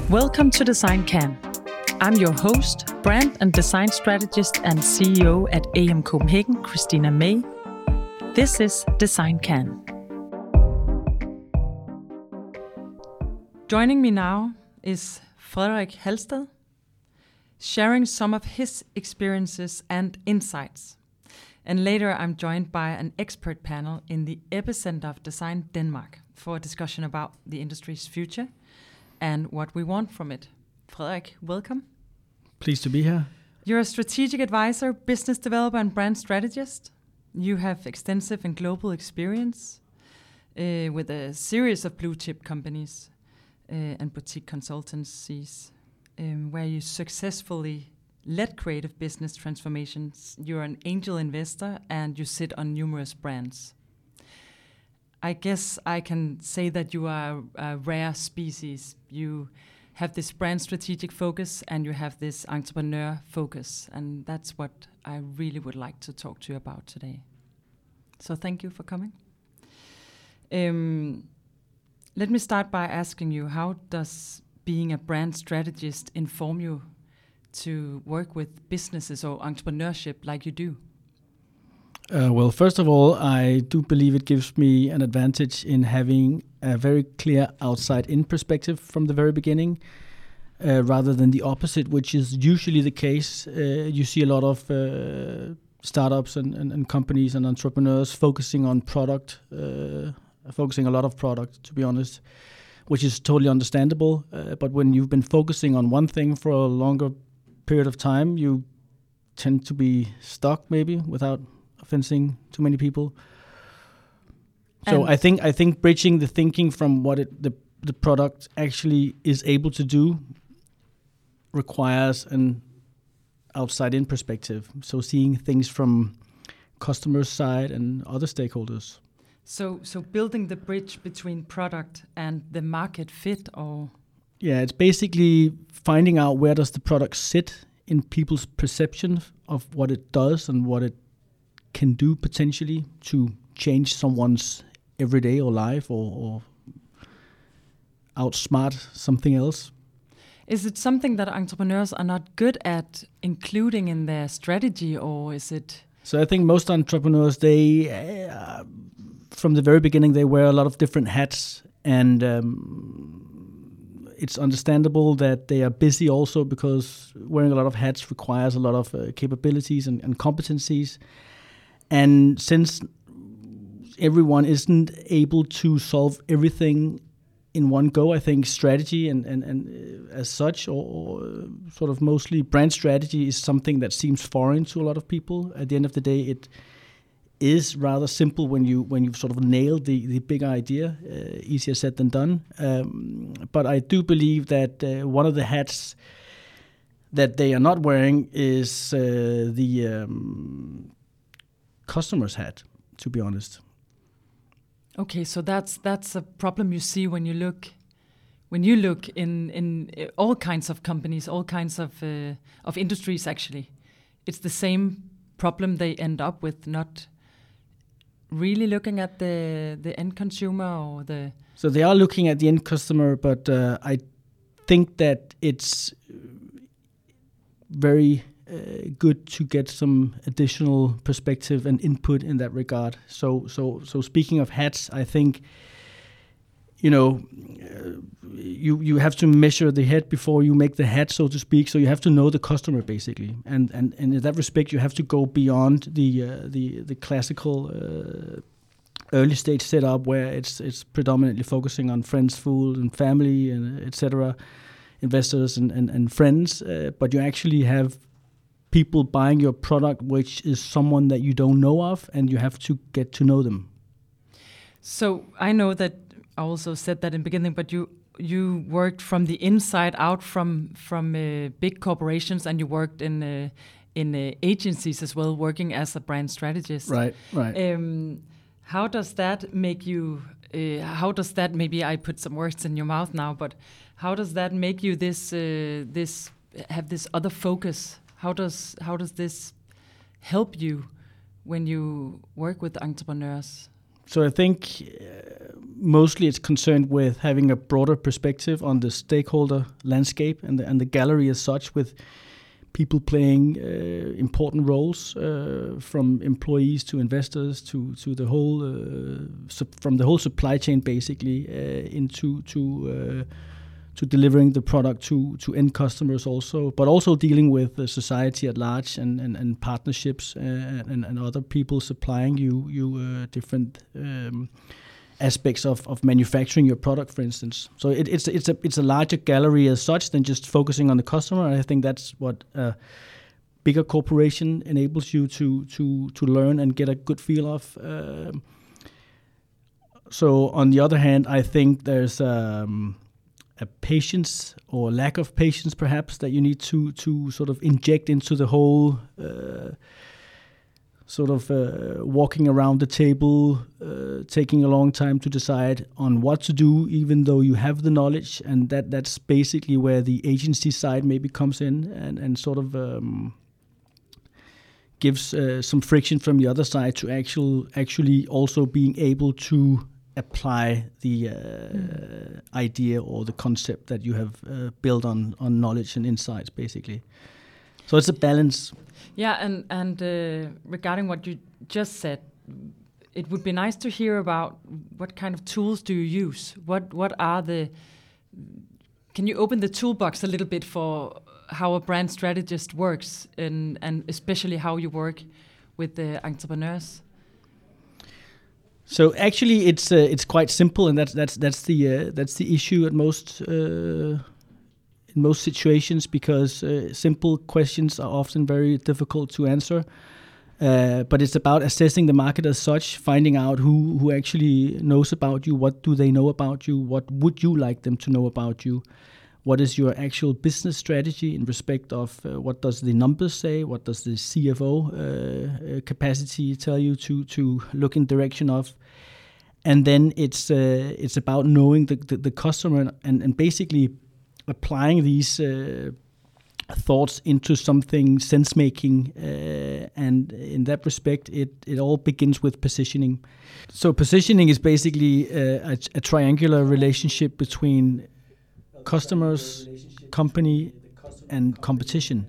Welcome to Design Can. I'm your host, brand and design strategist and CEO at AM Copenhagen, Christina May. This is Design Can. Joining me now is Frederik Halsted, sharing some of his experiences and insights. And later I'm joined by an expert panel in the epicenter of design, Denmark, for a discussion about the industry's future and what we want from it. Frederik, welcome. Pleased to be here. You're a strategic advisor, business developer, and brand strategist. You have extensive and global experience with a series of blue-chip companies and boutique consultancies where you successfully led creative business transformations. You're an angel investor and you sit on numerous brands. I guess I can say that you are a rare species. You have this brand strategic focus and you have this entrepreneur focus, and that's what I really would like to talk to you about today. So thank you for coming. Let me start by asking you, how does being a brand strategist inform you to work with businesses or entrepreneurship like you do? Well, first of all, I do believe it gives me an advantage in having a very clear outside-in perspective from the very beginning, rather than the opposite, which is usually the case. You see a lot of startups and companies and entrepreneurs focusing on product, focusing a lot of product, to be honest, which is totally understandable. But when you've been focusing on one thing for a longer period of time, you tend to be stuck, maybe, without offending too many people. So I think bridging the thinking from what the product actually is able to do requires an outside-in perspective. So seeing things from customer side and other stakeholders. So building the bridge between product and the market fit, or? Yeah, it's basically finding out where does the product sit in people's perception of what it does and what it can do potentially to change someone's everyday or life or outsmart something else. Is it something that entrepreneurs are not good at including in their strategy, or is it? So I think most entrepreneurs, they, from the very beginning, they wear a lot of different hats, and it's understandable that they are busy also, because wearing a lot of hats requires a lot of capabilities and competencies. And since everyone isn't able to solve everything in one go, I think strategy and as such, or sort of mostly brand strategy, is something that seems foreign to a lot of people. At the end of the day, it is rather simple when you've sort of nailed the big idea. Easier said than done. But I do believe that one of the hats that they are not wearing is the customer's hat, to be honest. Okay, so that's a problem you see when you look in all kinds of companies, all kinds of industries. Actually, it's the same problem they end up with, not really looking at the end consumer or the. So they are looking at the end customer, but I think that it's very good to get some additional perspective and input in that regard. So speaking of hats, I think, you have to measure the head before you make the hat, so to speak. So you have to know the customer basically, and in that respect, you have to go beyond the classical early stage setup where it's predominantly focusing on friends, food, and family, and etc., investors and friends. But you actually have people buying your product, which is someone that you don't know of, and you have to get to know them. So I know that I also said that in the beginning, but you worked from the inside out from big corporations, and you worked in agencies as well, working as a brand strategist. Right. How does that make you? How does that? Maybe I put some words in your mouth now, but how does that make you have this other focus? How does this help you when you work with entrepreneurs? So I think mostly it's concerned with having a broader perspective on the stakeholder landscape and the gallery as such, with people playing important roles, from employees to investors to the whole from the whole supply chain basically into to delivering the product to end customers also, but also dealing with the society at large and partnerships and other people supplying you different aspects of manufacturing your product, for instance. So it's a larger gallery as such than just focusing on the customer. And I think that's what a bigger corporation enables you to learn and get a good feel of. So on the other hand, I think there's a patience or lack of patience perhaps that you need to sort of inject into the whole walking around the table, taking a long time to decide on what to do, even though you have the knowledge. And that's basically where the agency side maybe comes in and sort of gives some friction from the other side to actually also being able to apply the idea or the concept that you have built on knowledge and insights, basically. So it's a balance. Yeah, and regarding what you just said, it would be nice to hear about what kind of tools do you use? What are the... Can you open the toolbox a little bit for how a brand strategist works, and especially how you work with the entrepreneurs? So actually, it's quite simple, and that's the issue at most. In most situations, because simple questions are often very difficult to answer. But it's about assessing the market as such, finding out who actually knows about you, what do they know about you, what would you like them to know about you, what is your actual business strategy in respect of what does the numbers say, what does the CFO capacity tell you to look in direction of. And then it's about knowing the customer and basically applying these thoughts into something sense-making, and in that respect, it all begins with positioning. So positioning is basically a triangular relationship between customers, company, and competition.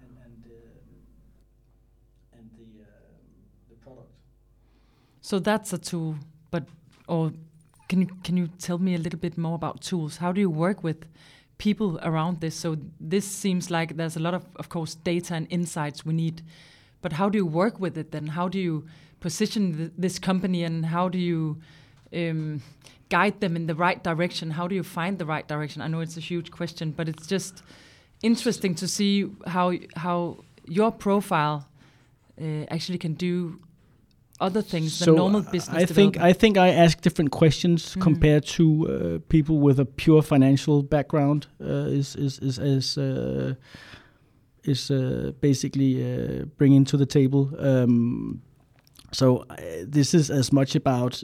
And the product. So that's a tool, or can you tell me a little bit more about tools? How do you work with people around this? So this seems like there's a lot of course, data and insights we need, but how do you work with it then? How do you position this company, and how do you guide them in the right direction? How do you find the right direction? I know it's a huge question, but it's just interesting to see how your profile actually can do other things than normal business development. I think I ask different questions compared to people with a pure financial background. Is basically bringing to the table. So this is as much about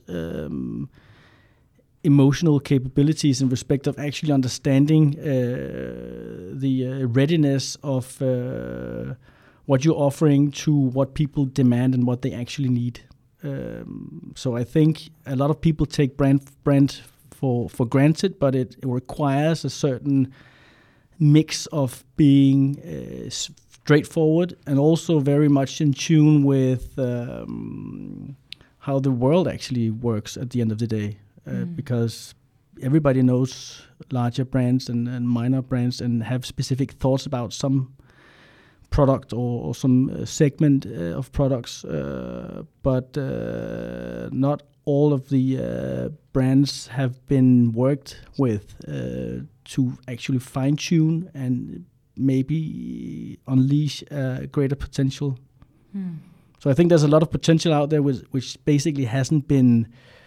emotional capabilities in respect of actually understanding the readiness of what you're offering to what people demand and what they actually need. So I think a lot of people take brand for granted, but it requires a certain mix of being straightforward and also very much in tune with how the world actually works at the end of the day. Because everybody knows larger brands and minor brands and have specific thoughts about some product or some segment of products, but not all of the brands have been worked with to actually fine-tune and maybe unleash greater potential. So I think there's a lot of potential out there which basically hasn't been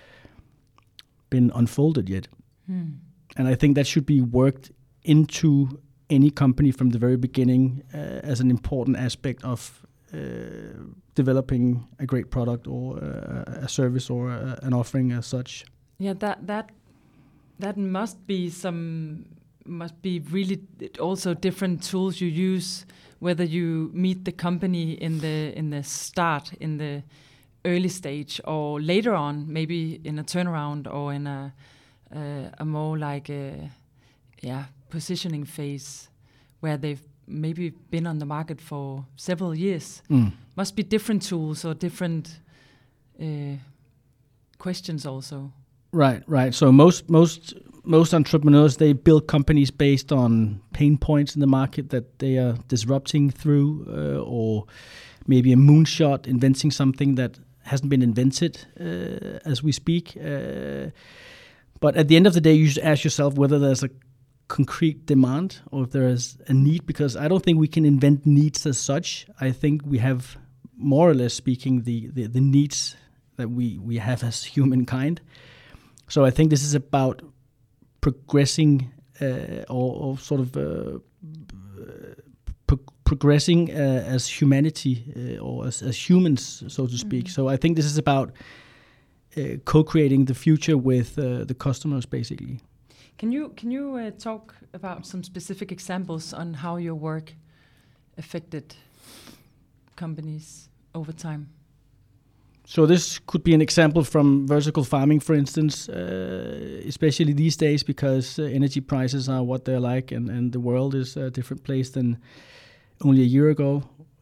unfolded yet. And I think that should be worked into any company from the very beginning as an important aspect of developing a great product or a service or an offering as such. Yeah, that must be really also different tools you use, whether you meet the company in the start, in the early stage or later on, maybe in a turnaround or in a more like positioning phase where they've maybe been on the market for several years. Must be different tools or different questions also. Right. So most entrepreneurs, they build companies based on pain points in the market that they are disrupting through, or maybe a moonshot, inventing something that hasn't been invented as we speak. But at the end of the day, you should ask yourself whether there's a concrete demand or if there is a need, because I don't think we can invent needs as such. I think we have, more or less speaking, the needs that we have as humankind. So I think this is about progressing or sort of progressing as humanity or as humans, so to speak. So I think this is about co-creating the future with the customers, basically. Can you talk about some specific examples on how your work affected companies over time? So this could be an example from vertical farming, for instance, especially these days, because energy prices are what they're like, and the world is a different place than only a year ago.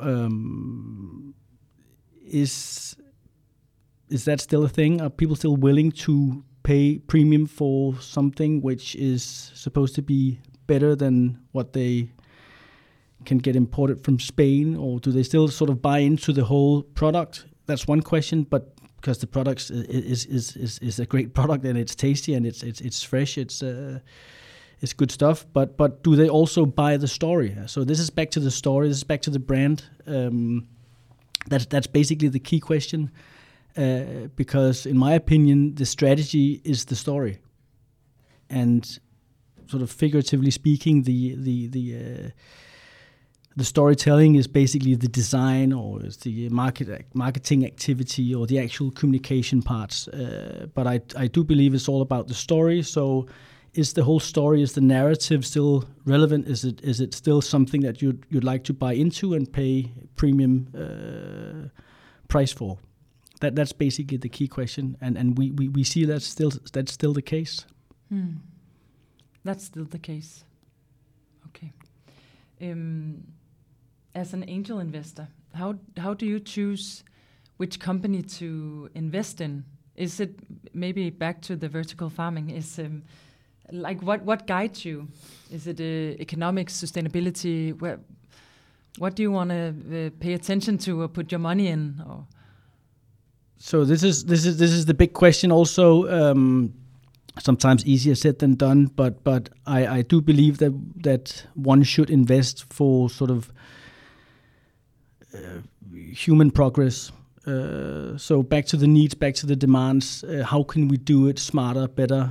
Is that still a thing? Are people still willing to pay premium for something which is supposed to be better than what they can get imported from Spain, or do they still sort of buy into the whole product? That's one question, but because the product is a great product and it's tasty and it's fresh, it's good stuff. But do they also buy the story? So this is back to the story. This is back to the brand. That's basically the key question, because in my opinion, the strategy is the story, and sort of figuratively speaking, the storytelling is basically the design, or is the marketing activity, or the actual communication parts. But I do believe it's all about the story. So is the whole story, is the narrative still relevant? Is it still something that you'd like to buy into and pay premium price for? That's basically the key question, and we see that's still the case. That's still the case. Okay. As an angel investor, how do you choose which company to invest in? Is it maybe back to the vertical farming? Is like what guides you? Is it economic sustainability? What do you want to pay attention to or put your money in? Or? So this is the big question. Also, sometimes easier said than done. But I do believe that one should invest for sort of human progress. So back to the needs, back to the demands. How can we do it smarter, better?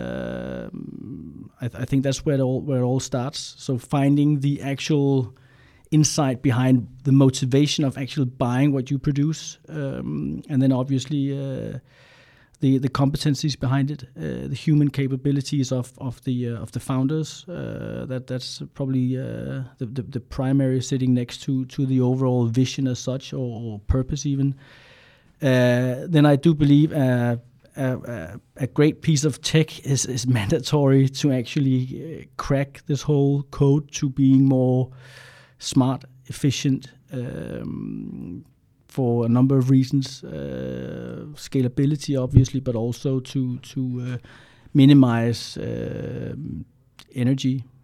I think that's where it all starts. So finding the actual insight behind the motivation of actually buying what you produce, and then obviously the competencies behind it, the human capabilities of the founders. That's probably the primary, sitting next to the overall vision as such, or purpose even. Then I do believe a great piece of tech is mandatory to actually crack this whole code to being more smart, efficient, for a number of reasons, scalability obviously, but also to minimize energy.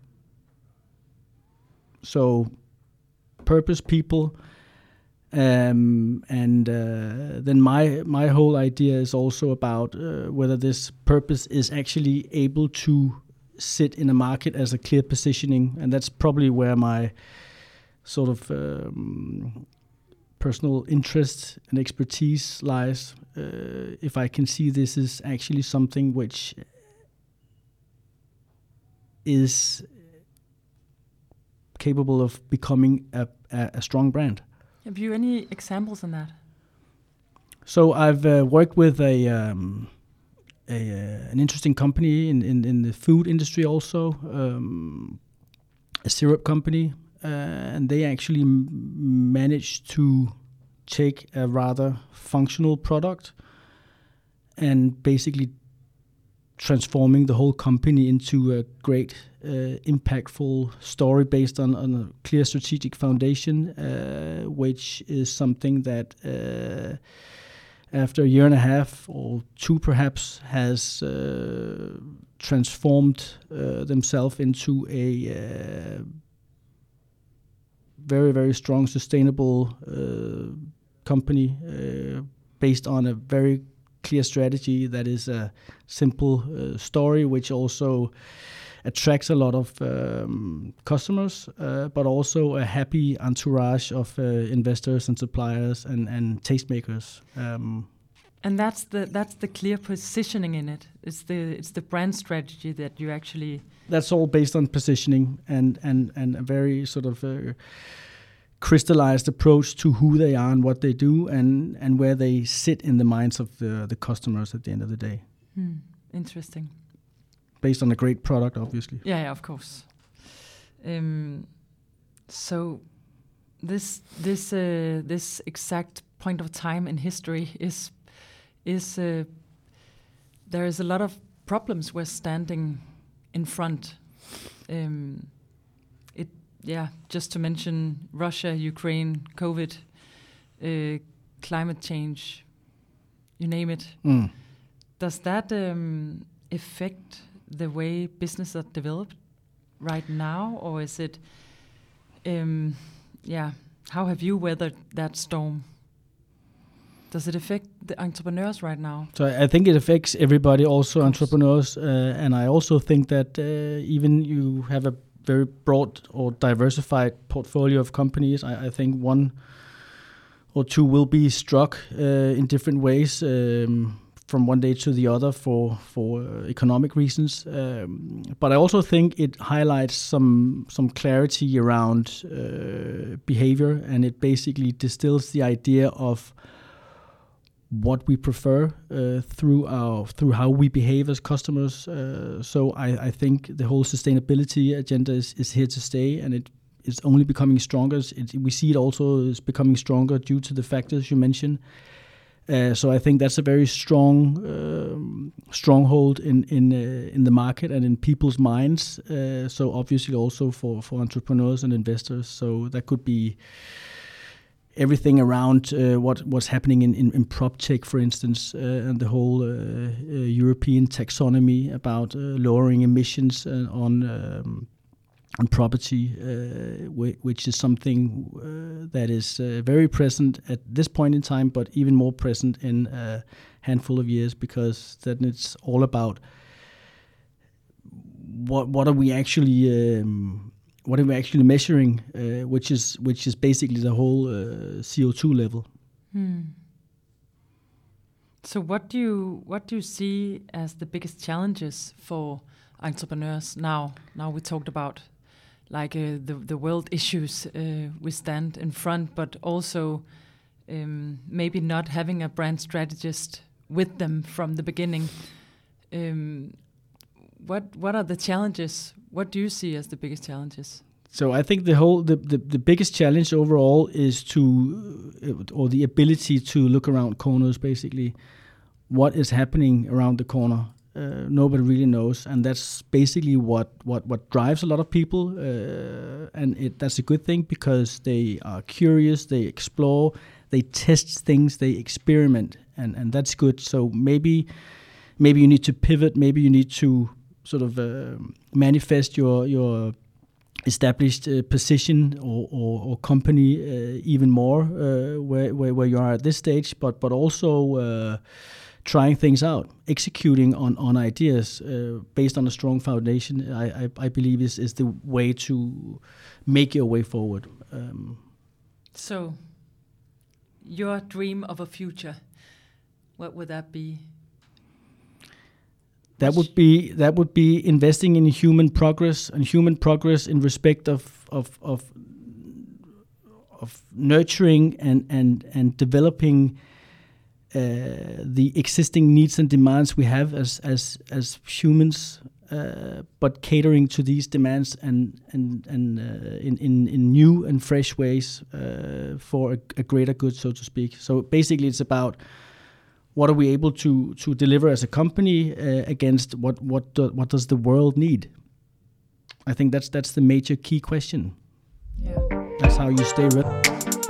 So purpose, people, and then my whole idea is also about whether this purpose is actually able to sit in a market as a clear positioning, and that's probably where my sort of personal interest and expertise lies. If I can see this is actually something which is capable of becoming a strong brand. Have you any examples on that? So I've worked with an interesting company in the food industry also, a syrup company. And they actually managed to take a rather functional product and basically transforming the whole company into a great, impactful story based on a clear strategic foundation, which is something that after a year and a half or two perhaps has transformed themselves into a very, very strong, sustainable company based on a very clear strategy that is a simple story, which also attracts a lot of customers, but also a happy entourage of investors and suppliers and tastemakers. And that's the clear positioning in it. It's the brand strategy that you actually. That's all based on positioning and a very sort of crystallized approach to who they are and what they do and where they sit in the minds of the customers at the end of the day. Interesting. Based on a great product, obviously. Yeah, of course. So this exact point of time in history is there is a lot of problems we're standing in front. Just to mention Russia, Ukraine, COVID, climate change, you name it. Does that affect the way business are developed right now, or is it? How have you weathered that storm? Does it affect the entrepreneurs right now? So I think it affects everybody, also entrepreneurs, and I also think that even you have a very broad or diversified portfolio of companies, I think one or two will be struck in different ways from one day to the other for economic reasons. But I also think it highlights some clarity around behavior, and it basically distills the idea of what we prefer through how we behave as customers. So I think the whole sustainability agenda is here to stay, and it is only becoming stronger. We see it also is becoming stronger due to the factors you mentioned. So I think that's a very strong stronghold in the market and in people's minds. So obviously also for entrepreneurs and investors. So that could be everything around what's happening in PropTech, for instance, and the whole European taxonomy about lowering emissions on property, which is something that is very present at this point in time, but even more present in a handful of years, because then it's all about what are we actually measuring, which is basically the whole CO2 level. So what do you see as the biggest challenges for entrepreneurs now? Now we talked about like the world issues we stand in front, but also maybe not having a brand strategist with them from the beginning. What are the challenges? What do you see as the biggest challenges? So I think the biggest challenge overall is or the ability to look around corners, basically. What is happening around the corner? Nobody really knows, and that's basically what drives a lot of people, and that's a good thing because they are curious, they explore, they test things, they experiment, and that's good. So maybe you need to pivot, maybe you need to sort of manifest your established position or company even more where you are at this stage, but also trying things out, executing on ideas based on a strong foundation. I believe is the way to make your way forward. So, your dream of a future, what would that be? That would be investing in human progress, and human progress in respect of nurturing and developing the existing needs and demands we have as humans, but catering to these demands and in new and fresh ways for a greater good, so to speak. So basically, it's about what are we able to deliver as a company against what does the world need? I think that's the major key question. Yeah. That's how you stay relevant.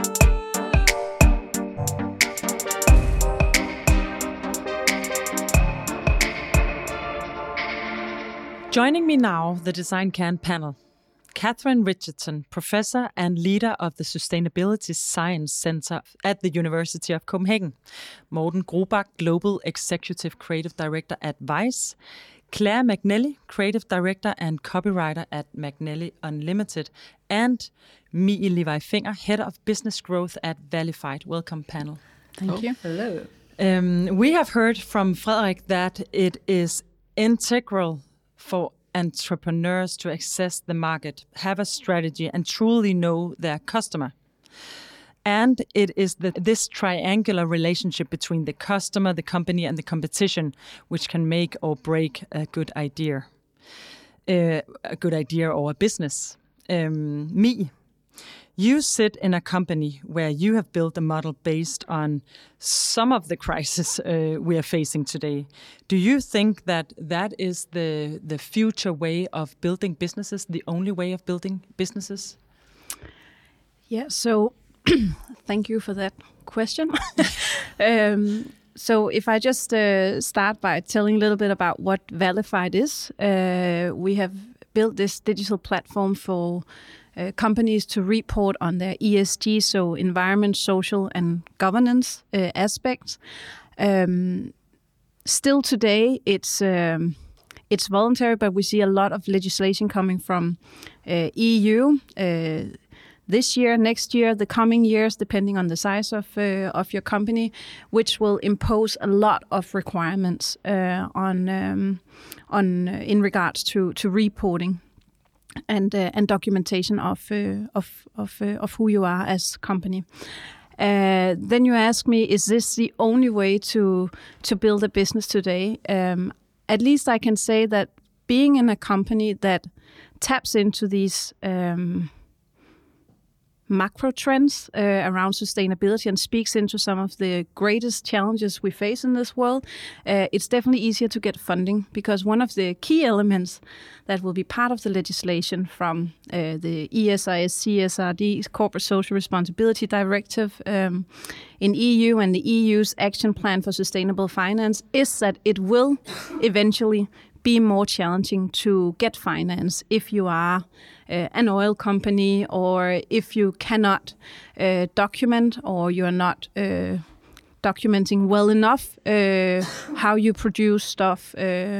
Joining me now, the Design Can panel. Catherine Richardson, professor and leader of the Sustainability Science Center at the University of Copenhagen. Morten Grobak, Global Executive Creative Director at Vice. Claire McNally, Creative Director and Copywriter at McNally Unlimited. And Mie Levi Finger, Head of Business Growth at Valified. Welcome, panel. Thank you. Hello. We have heard from Frederik that it is integral for entrepreneurs to access the market, have a strategy, and truly know their customer. And it is this triangular relationship between the customer, the company, and the competition which can make or break a good idea or a business. Mie, you sit in a company where you have built a model based on some of the crises we are facing today. Do you think that is the future way of building businesses, the only way of building businesses? Yeah, so thank you for that question. So if I just start by telling a little bit about what Valified is, we have built this digital platform for companies to report on their ESG, so environment, social, and governance aspects. Still today, it's voluntary, but we see a lot of legislation coming from EU this year, next year, the coming years, depending on the size of your company, which will impose a lot of requirements in regards to reporting and documentation of who you are as a company. Then you ask me, is this the only way to build a business today? At least I can say that being in a company that taps into these macro trends around sustainability and speaks into some of the greatest challenges we face in this world, it's definitely easier to get funding, because one of the key elements that will be part of the legislation from the ESIS CSRD, Corporate Social Responsibility Directive in EU, and the EU's Action Plan for Sustainable Finance, is that it will eventually be more challenging to get finance if you are an oil company, or if you cannot document, or you are not documenting well enough how you produce stuff.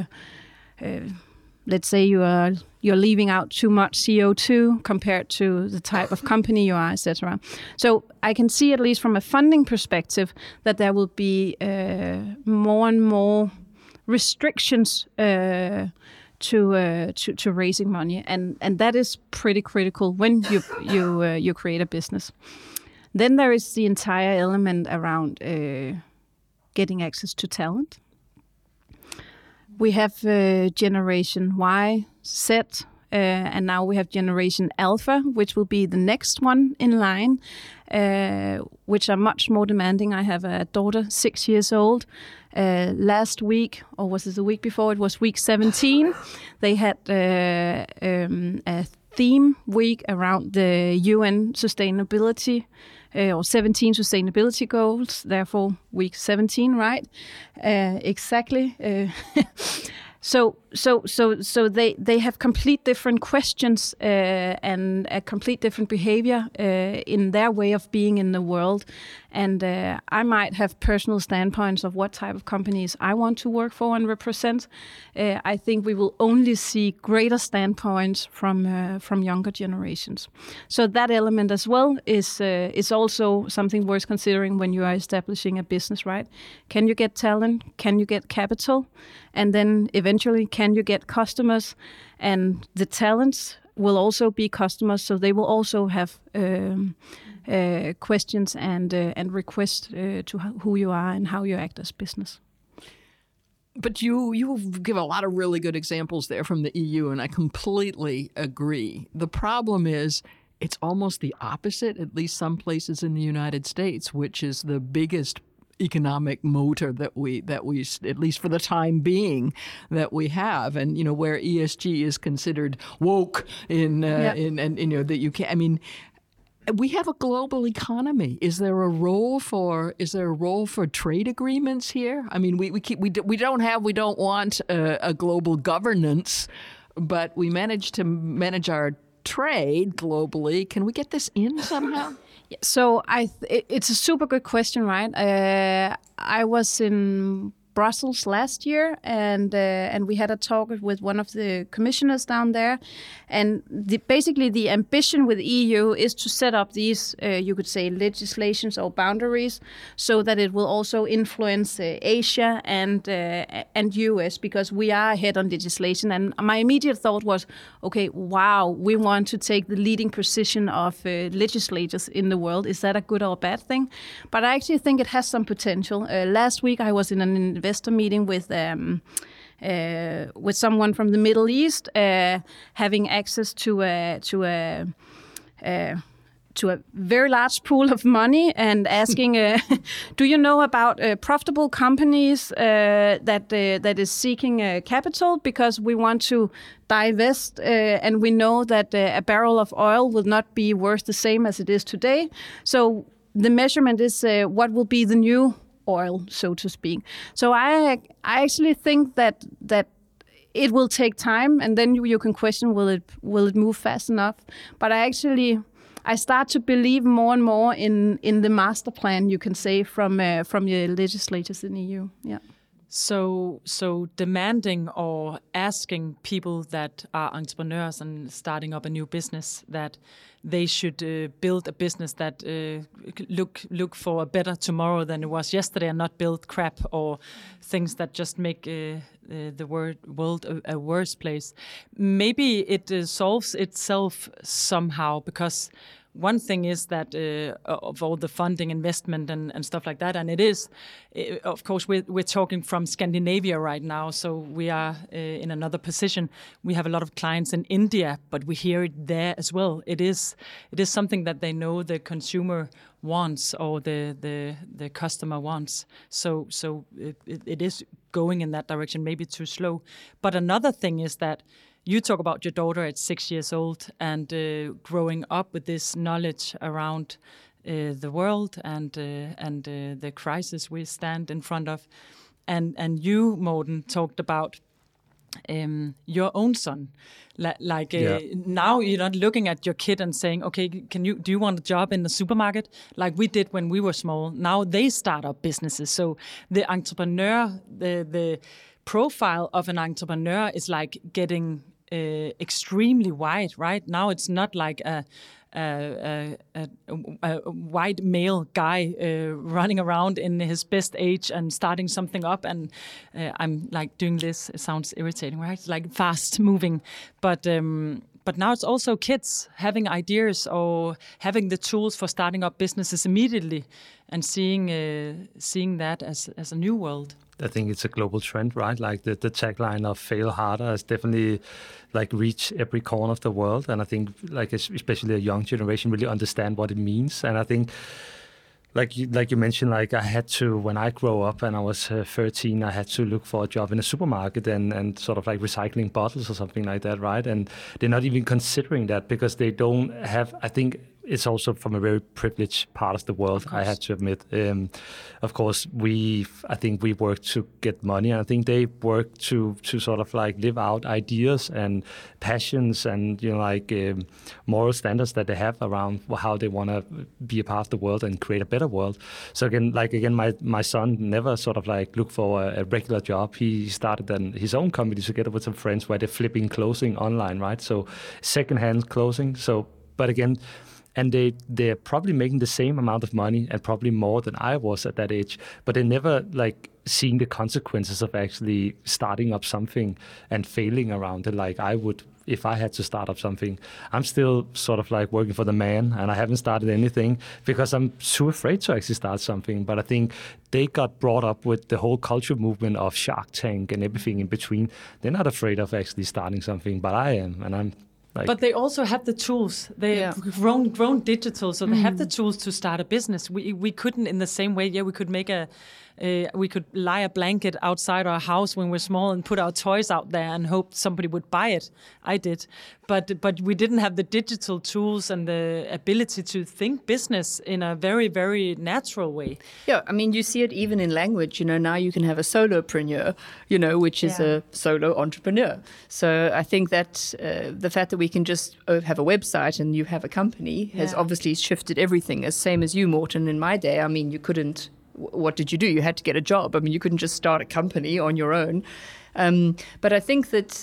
Let's say you're leaving out too much CO2 compared to the type of company you are, etc. So I can see, at least from a funding perspective, that there will be more and more restrictions to raising money, and that is pretty critical when you create a business. Then there is the entire element around getting access to talent. We have Generation Y, Z, and now we have Generation Alpha, which will be the next one in line, which are much more demanding. I have a daughter, 6 years old. Last week, or was it the week before? It was week 17. They had a theme week around the UN sustainability, or 17 sustainability goals. Therefore, week 17, right? Exactly. So they have complete different questions and a complete different behavior in their way of being in the world. And I might have personal standpoints of what type of companies I want to work for and represent. I think we will only see greater standpoints from younger generations. So that element as well is also something worth considering when you are establishing a business, right? Can you get talent? Can you get capital? And then eventually, can you get customers? And the talents will also be customers, so they will also have questions and requests to who you are and how you act as business. But you give a lot of really good examples there from the EU, and I completely agree. The problem is it's almost the opposite, at least some places in the United States, which is the biggest economic motor that we at least for the time being that we have, and where ESG is considered woke in that you can't. I mean, we have a global economy. Is there a role for trade agreements here? I mean, we don't want a global governance, but we manage to manage our trade globally. Can we get this in somehow? So it's a super good question, right? I was in Brussels last year, and we had a talk with one of the commissioners down there, and basically the ambition with EU is to set up these, you could say, legislations or boundaries, so that it will also influence Asia and US, because we are ahead on legislation. And my immediate thought was, okay, wow, we want to take the leading position of legislators in the world. Is that a good or a bad thing? But I actually think it has some potential. Last week I was in an investor meeting with someone from the Middle East, having access to a very large pool of money, and asking, do you know about profitable companies that is seeking capital, because we want to divest, and we know that a barrel of oil will not be worth the same as it is today. So the measurement is what will be the new oil, so to speak. So I actually think that it will take time, and then you can question, will it move fast enough? But I start to believe more and more in the master plan, you can say, from the legislators in the EU. Yeah. So demanding or asking people that are entrepreneurs and starting up a new business that they should build a business that look for a better tomorrow than it was yesterday, and not build crap or things that just make the world a worse place. Maybe it solves itself somehow, because one thing is that of all the funding, investment, and stuff like that, and of course, we're talking from Scandinavia right now, so we are in another position. We have a lot of clients in India, but we hear it there as well. It is something that they know the consumer wants, or the customer wants. So it is going in that direction, maybe too slow. But another thing is that you talk about your daughter at 6 years old and growing up with this knowledge around the world and the crisis we stand in front of. And you, Morten, talked about your own son. Now you're not looking at your kid and saying, okay, do you want a job in the supermarket? Like we did when we were small. Now they start up businesses. So the entrepreneur, the profile of an entrepreneur is like getting extremely wide, right? Now it's not like a white male guy running around in his best age and starting something up, and I'm like doing this. It sounds irritating, right? It's like fast moving, but now it's also kids having ideas or having the tools for starting up businesses immediately, and seeing that as a new world. I think it's a global trend, right? Like the tagline of "fail harder" has definitely like reached every corner of the world, and I think like especially a young generation really understand what it means. And I think, like you mentioned, like I had to, when I grew up and I was 13, I had to look for a job in a supermarket and sort of like recycling bottles or something like that, right? And they're not even considering that because they don't have. I think it's also from a very privileged part of the world, I have to admit. Of course, I think we work to get money, and I think they work to sort of like live out ideas and passions and moral standards that they have around how they want to be a part of the world and create a better world. So again, my son never sort of like looked for a regular job. He started his own company together with some friends where they're flipping clothing online, right? So secondhand clothing. So, but again. And they're probably making the same amount of money and probably more than I was at that age, but they never like seeing the consequences of actually starting up something and failing around it like I would if I had to start up something. I'm still sort of like working for the man, and I haven't started anything because I'm too afraid to actually start something. But I think they got brought up with the whole culture movement of Shark Tank and everything in between. They're not afraid of actually starting something, but I am, and I'm like... But they also have the tools. They've grown digital, so they have the tools to start a business. We couldn't in the same way. Yeah, we could make we could lie a blanket outside our house when we're small and put our toys out there and hope somebody would buy it. I did. But we didn't have the digital tools and the ability to think business in a very, very natural way. Yeah, I mean, you see it even in language. Now you can have a solopreneur, which is a solo entrepreneur. So I think that the fact that we can just have a website and you have a company has obviously shifted everything. As same as you, Morten. In my day, I mean, you couldn't... What did you do? You had to get a job. I mean, you couldn't just start a company on your own. But I think that,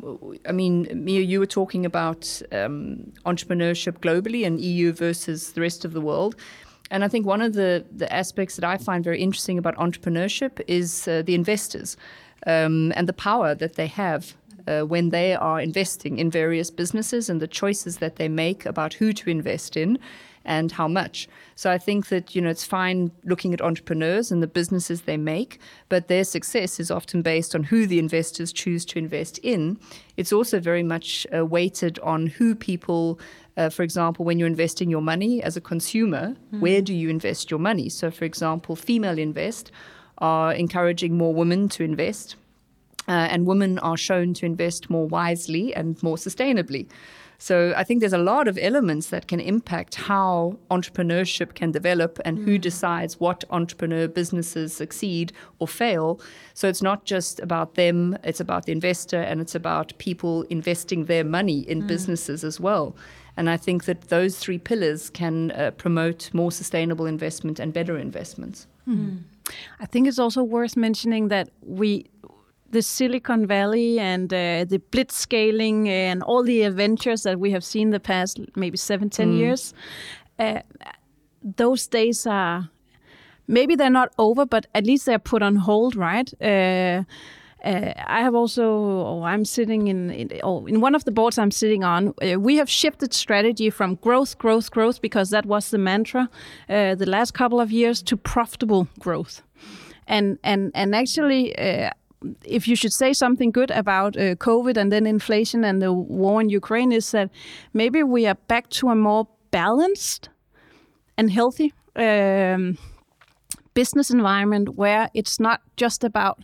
Mia, you were talking about entrepreneurship globally and EU versus the rest of the world. And I think one of the aspects that I find very interesting about entrepreneurship is the investors and the power that they have when they are investing in various businesses and the choices that they make about who to invest in and how much. So I think that, it's fine looking at entrepreneurs and the businesses they make, but their success is often based on who the investors choose to invest in. It's also very much weighted on who people, for example, when you're investing your money as a consumer, where do you invest your money? So, for example, Female Invest are encouraging more women to invest, and women are shown to invest more wisely and more sustainably. So I think there's a lot of elements that can impact how entrepreneurship can develop and who decides what entrepreneur businesses succeed or fail. So it's not just about them, it's about the investor, and it's about people investing their money in businesses as well. And I think that those three pillars can promote more sustainable investment and better investments. I think it's also worth mentioning that the Silicon Valley and the blitzscaling and all the adventures that we have seen the past maybe 7-10 years, those days are, maybe they're not over, but at least they're put on hold, right? I have also, I'm sitting in one of the boards I'm sitting on, we have shifted strategy from growth, because that was the mantra the last couple of years, to profitable growth. And actually, if you should say something good about COVID and then inflation and the war in Ukraine, is that maybe we are back to a more balanced and healthy business environment where it's not just about,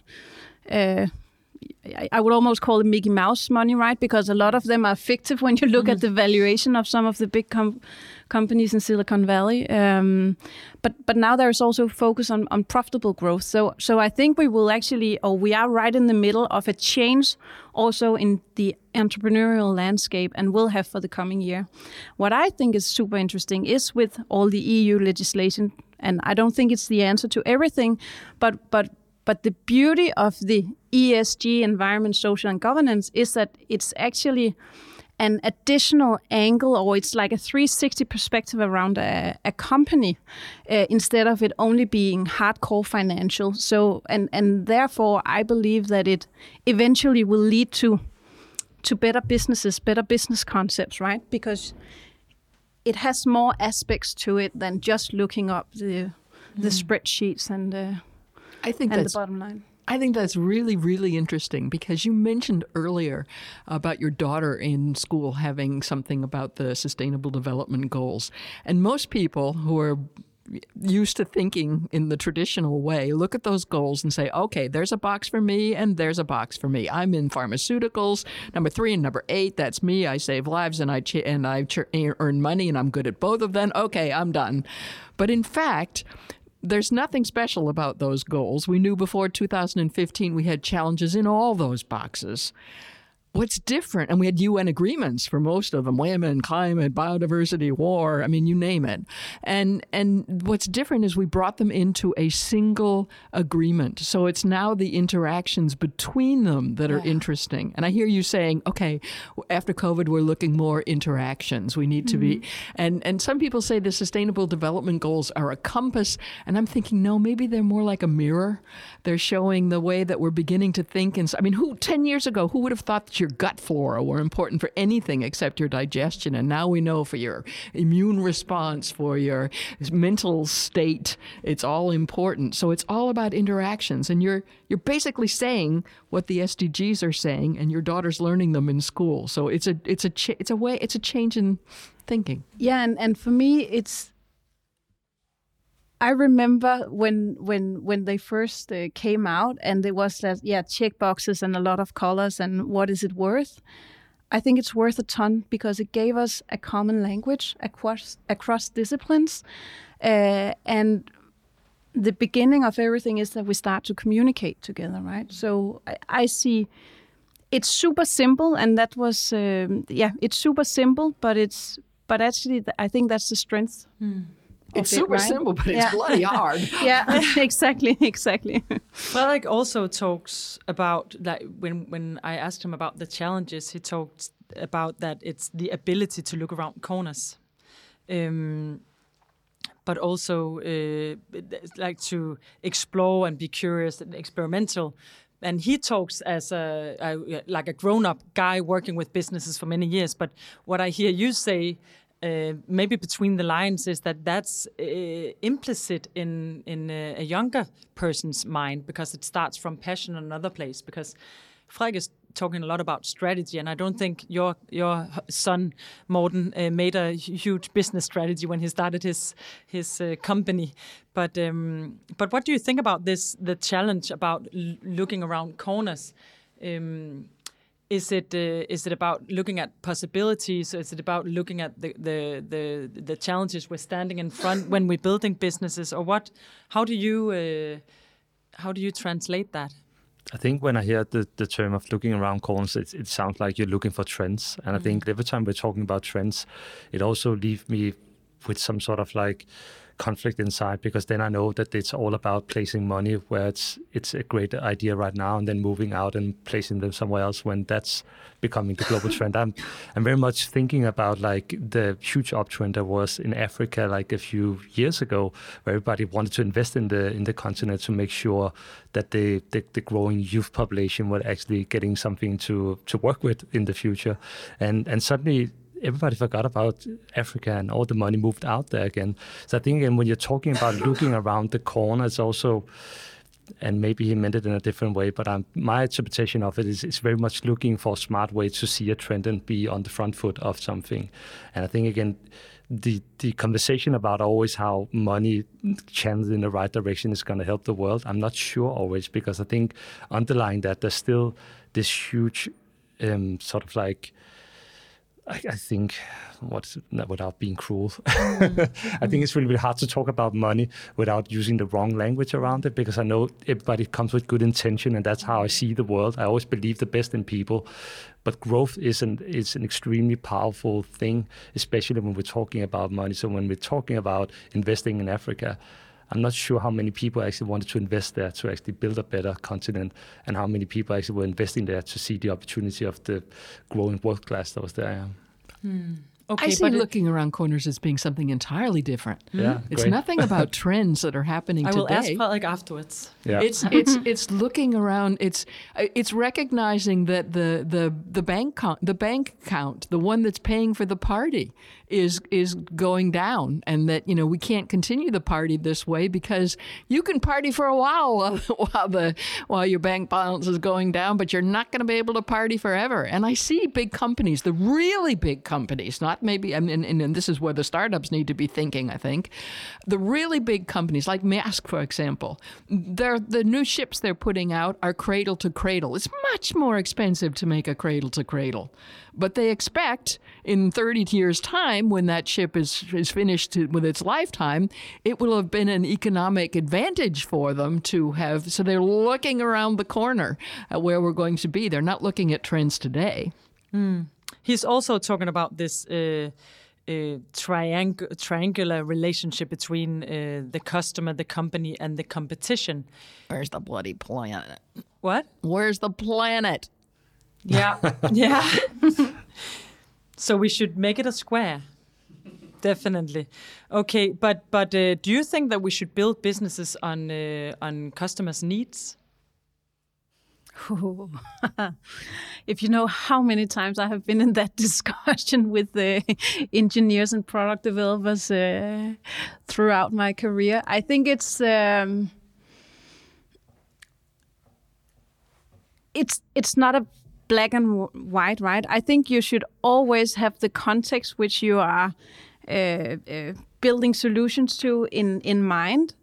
I would almost call it Mickey Mouse money, right? Because a lot of them are fictive when you look at the valuation of some of the big companies in Silicon Valley. But now there is also focus on profitable growth. So I think we will actually, or we are right in the middle of a change also in the entrepreneurial landscape, and will have for the coming year. What I think is super interesting is with all the EU legislation, and I don't think it's the answer to everything, but the beauty of the ESG, environment, social and governance, is that it's actually an additional angle, or it's like a 360 perspective around a company, instead of it only being hardcore financial. So, and therefore, I believe that it eventually will lead to better businesses, better business concepts, right? Because it has more aspects to it than just looking up the spreadsheets and the bottom line. I think that's really, really interesting, because you mentioned earlier about your daughter in school having something about the Sustainable Development Goals. And most people who are used to thinking in the traditional way look at those goals and say, okay, there's a box for me and there's a box for me. I'm in pharmaceuticals, number 3 and number 8, that's me. I save lives and I earn money and I'm good at both of them. Okay, I'm done. But in fact, there's nothing special about those goals. We knew before 2015 we had challenges in all those boxes. What's different, and we had UN agreements for most of them, women, climate, biodiversity, war, I mean, you name it. And what's different is we brought them into a single agreement. So it's now the interactions between them that are interesting. And I hear you saying, okay, after COVID, we're looking more interactions. We need to be, and some people say the Sustainable Development Goals are a compass. And I'm thinking, no, maybe they're more like a mirror. They're showing the way that we're beginning to think. And I mean, 10 years ago, who would have thought that your gut flora were important for anything except your digestion. And now we know for your immune response, for your mental state, it's all important. So it's all about interactions. And you're basically saying what the SDGs are saying, and your daughter's learning them in school. So it's a change in thinking. Yeah, and for me, I remember when they first came out, and there was that check boxes and a lot of colors and what is it worth. I think it's worth a ton because it gave us a common language across disciplines, and the beginning of everything is that we start to communicate together, right? So I see it's super simple, and that was it's super simple, but actually I think that's the strength. It's super simple, but it's bloody hard. Yeah, exactly. Fredrik also talks about, like, when I asked him about the challenges, he talked about that it's the ability to look around corners, but also like to explore and be curious and experimental. And he talks as like a grown-up guy working with businesses for many years. But what I hear you say, maybe between the lines, is that that's implicit in a younger person's mind, because it starts from passion in another place. Because Fredrik is talking a lot about strategy, and I don't think your son Morten made a huge business strategy when he started his company. But what do you think about this? The challenge about looking around corners. Is it about looking at possibilities? Is it about looking at the challenges we're standing in front when we're building businesses, or what? How do you translate that? I think when I hear the term of looking around corners, it sounds like you're looking for trends. And I think every time we're talking about trends, it also leaves me with some sort of like conflict inside, because then I know that it's all about placing money where it's a great idea right now, and then moving out and placing them somewhere else when that's becoming the global trend. I'm very much thinking about like the huge uptrend there was in Africa like a few years ago, where everybody wanted to invest in the continent to make sure that the growing youth population were actually getting something to work with in the future, and suddenly everybody forgot about Africa and all the money moved out there again. So I think, again, when you're talking about looking around the corner, it's also, and maybe he meant it in a different way, but my interpretation of it is very much looking for a smart way to see a trend and be on the front foot of something. And I think, again, the conversation about always how money channeled in the right direction is going to help the world, I'm not sure always, because I think underlying that, there's still this huge sort of like, I think, without being cruel, I think it's really, really hard to talk about money without using the wrong language around it, because I know everybody comes with good intention, and that's how I see the world. I always believe the best in people, but growth is an extremely powerful thing, especially when we're talking about money. So when we're talking about investing in Africa, I'm not sure how many people actually wanted to invest there to actually build a better continent, and how many people actually were investing there to see the opportunity of the growing world class that was there. Okay, I see looking around corners as being something entirely different. Yeah, it's nothing about trends that are happening today. I will ask Fredrik afterwards. Yeah. It's looking around. It's recognizing that the bank account, the one that's paying for the party, is going down, and that we can't continue the party this way, because you can party for a while while your bank balance is going down, but you're not going to be able to party forever. And I see big companies, the really big companies, not maybe, and this is where the startups need to be thinking, I think. The really big companies, like Maersk, for example, the new ships they're putting out are cradle to cradle. It's much more expensive to make a cradle to cradle. But they expect in 30 years' time, when that ship is finished with its lifetime, it will have been an economic advantage for them to have. So they're looking around the corner at where we're going to be. They're not looking at trends today. He's also talking about this triangular relationship between the customer, the company, and the competition. Where's the bloody planet? What? Where's the planet? Yeah, yeah. So we should make it a square. Definitely. Okay, but do you think that we should build businesses on customers' needs? If you know how many times I have been in that discussion with the engineers and product developers throughout my career, I think it's not a black and white, right? I think you should always have the context which you are building solutions to in mind.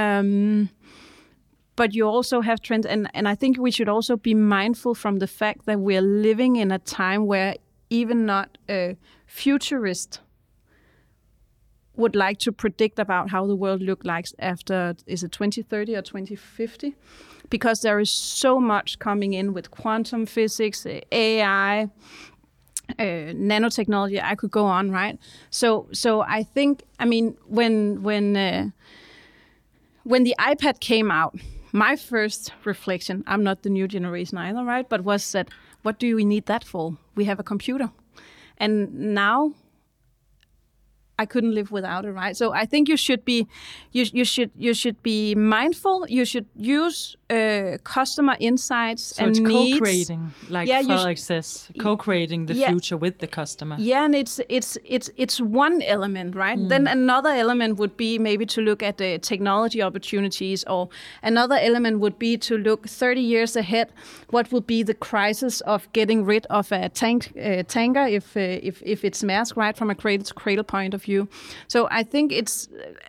But you also have trends, and I think we should also be mindful from the fact that we are living in a time where even not a futurist would like to predict about how the world look like after, is it 2030 or 2050? Because there is so much coming in with quantum physics, AI, nanotechnology. I could go on, right? So I think, I mean, when the iPad came out, my first reflection, I'm not the new generation either, right? But was that, what do we need that for? We have a computer. And now I couldn't live without it, right? So I think you should be mindful. You should use customer insights so and it's needs. Co-creating, like Frederik says, co-creating the future with the customer. Yeah, and it's one element, right? Then another element would be maybe to look at the technology opportunities, or another element would be to look 30 years ahead. What would be the crisis of getting rid of a tanker if it's Maersk, right, from a cradle to cradle point of view? So I think it's,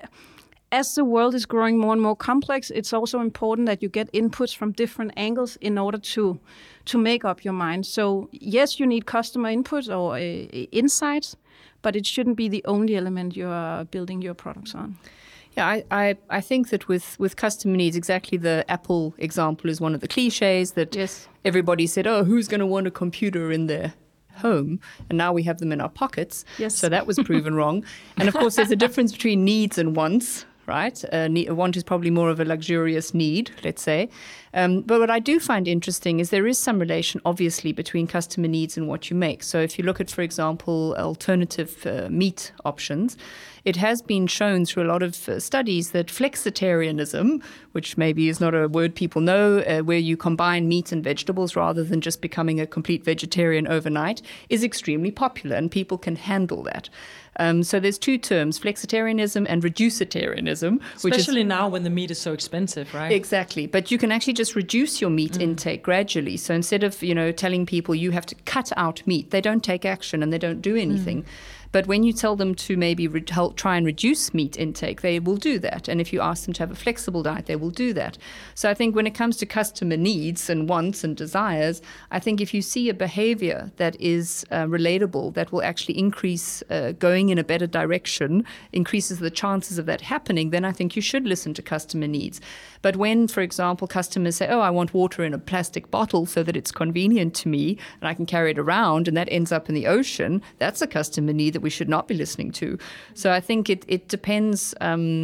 as the world is growing more and more complex, it's also important that you get inputs from different angles in order to make up your mind. So yes, you need customer input or insights, but it shouldn't be the only element you are building your products on. Yeah, I think that with customer needs, exactly the Apple example is one of the cliches that everybody said, oh, who's going to want a computer in their home? And now we have them in our pockets. Yes. So that was proven wrong. And of course, there's a difference between needs and wants, right? A want is probably more of a luxurious need, let's say. But what I do find interesting is there is some relation, obviously, between customer needs and what you make. So if you look at, for example, alternative meat options, it has been shown through a lot of studies that flexitarianism, which maybe is not a word people know, where you combine meat and vegetables rather than just becoming a complete vegetarian overnight, is extremely popular, and people can handle that. So there's two terms, flexitarianism and reducitarianism. Especially now when the meat is so expensive, right? Exactly. But you can actually just reduce your meat intake gradually. So instead of, telling people you have to cut out meat, they don't take action and they don't do anything. But when you tell them to maybe try and reduce meat intake, they will do that. And if you ask them to have a flexible diet, they will do that. So I think when it comes to customer needs and wants and desires, I think if you see a behavior that is relatable, that will actually increase going in a better direction, increases the chances of that happening, then I think you should listen to customer needs. But when, for example, customers say, oh, I want water in a plastic bottle so that it's convenient to me and I can carry it around, and that ends up in the ocean, that's a customer need that we should not be listening to. So I think it depends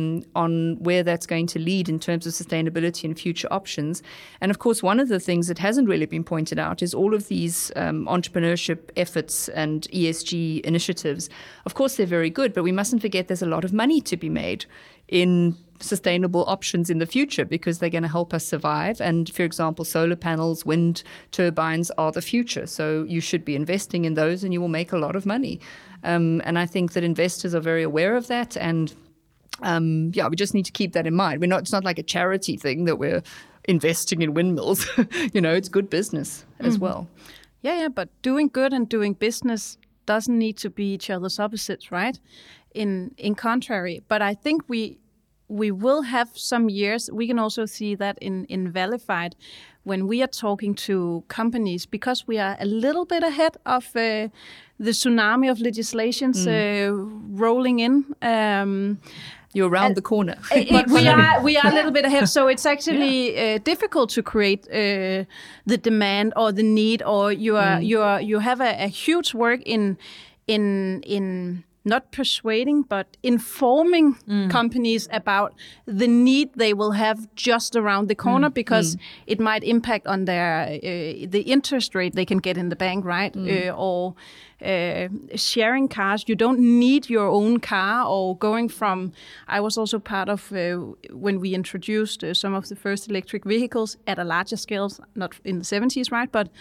on where that's going to lead in terms of sustainability and future options. And of course, one of the things that hasn't really been pointed out is all of these entrepreneurship efforts and ESG initiatives. Of course, they're very good, but we mustn't forget there's a lot of money to be made in sustainable options in the future, because they're going to help us survive. And for example, solar panels, wind turbines are the future. So you should be investing in those and you will make a lot of money. And I think that investors are very aware of that. And we just need to keep that in mind. It's not like a charity thing that we're investing in windmills. It's good business as well. Yeah, but doing good and doing business doesn't need to be each other's opposites, right? In contrary, but I think we will have some years. We can also see that in Valified when we are talking to companies, because we are a little bit ahead of the tsunami of legislations rolling in. You're around the corner. we are a little bit ahead, so it's actually difficult to create the demand or the need, or you have a huge work in not persuading, but informing companies about the need they will have just around the corner, because it might impact on their the interest rate they can get in the bank, right? Or sharing cars. You don't need your own car, or going from. I was also part of when we introduced some of the first electric vehicles at a larger scale, not in the 70s, right? But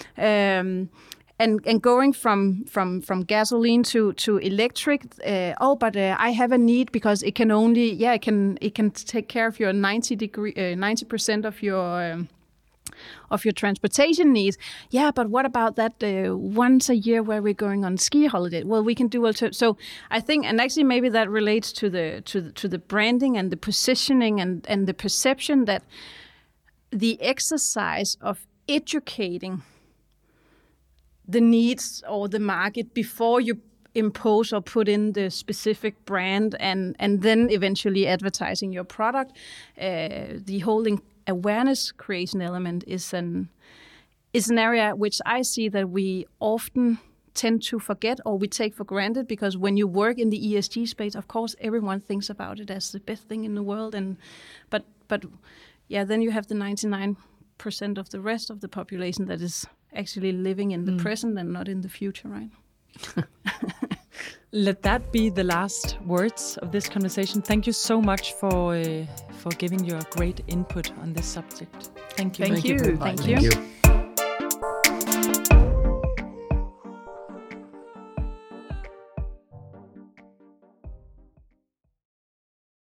And going from gasoline to electric, I have a need because it can only it can take care of your 90% of your transportation needs. Yeah, but what about that once a year where we're going on ski holiday? Well, we can do so. I think, and actually maybe that relates to the branding and the positioning and the perception that the exercise of educating the needs or the market before you impose or put in the specific brand and then eventually advertising your product. The whole awareness creation element is an area which I see that we often tend to forget or we take for granted, because when you work in the ESG space, of course, everyone thinks about it as the best thing in the world. But then you have the 99% of the rest of the population that is actually living in the present and not in the future, right? Let that be the last words of this conversation. Thank you so much for giving your great input on this subject. Thank you. Thank you. Thank you.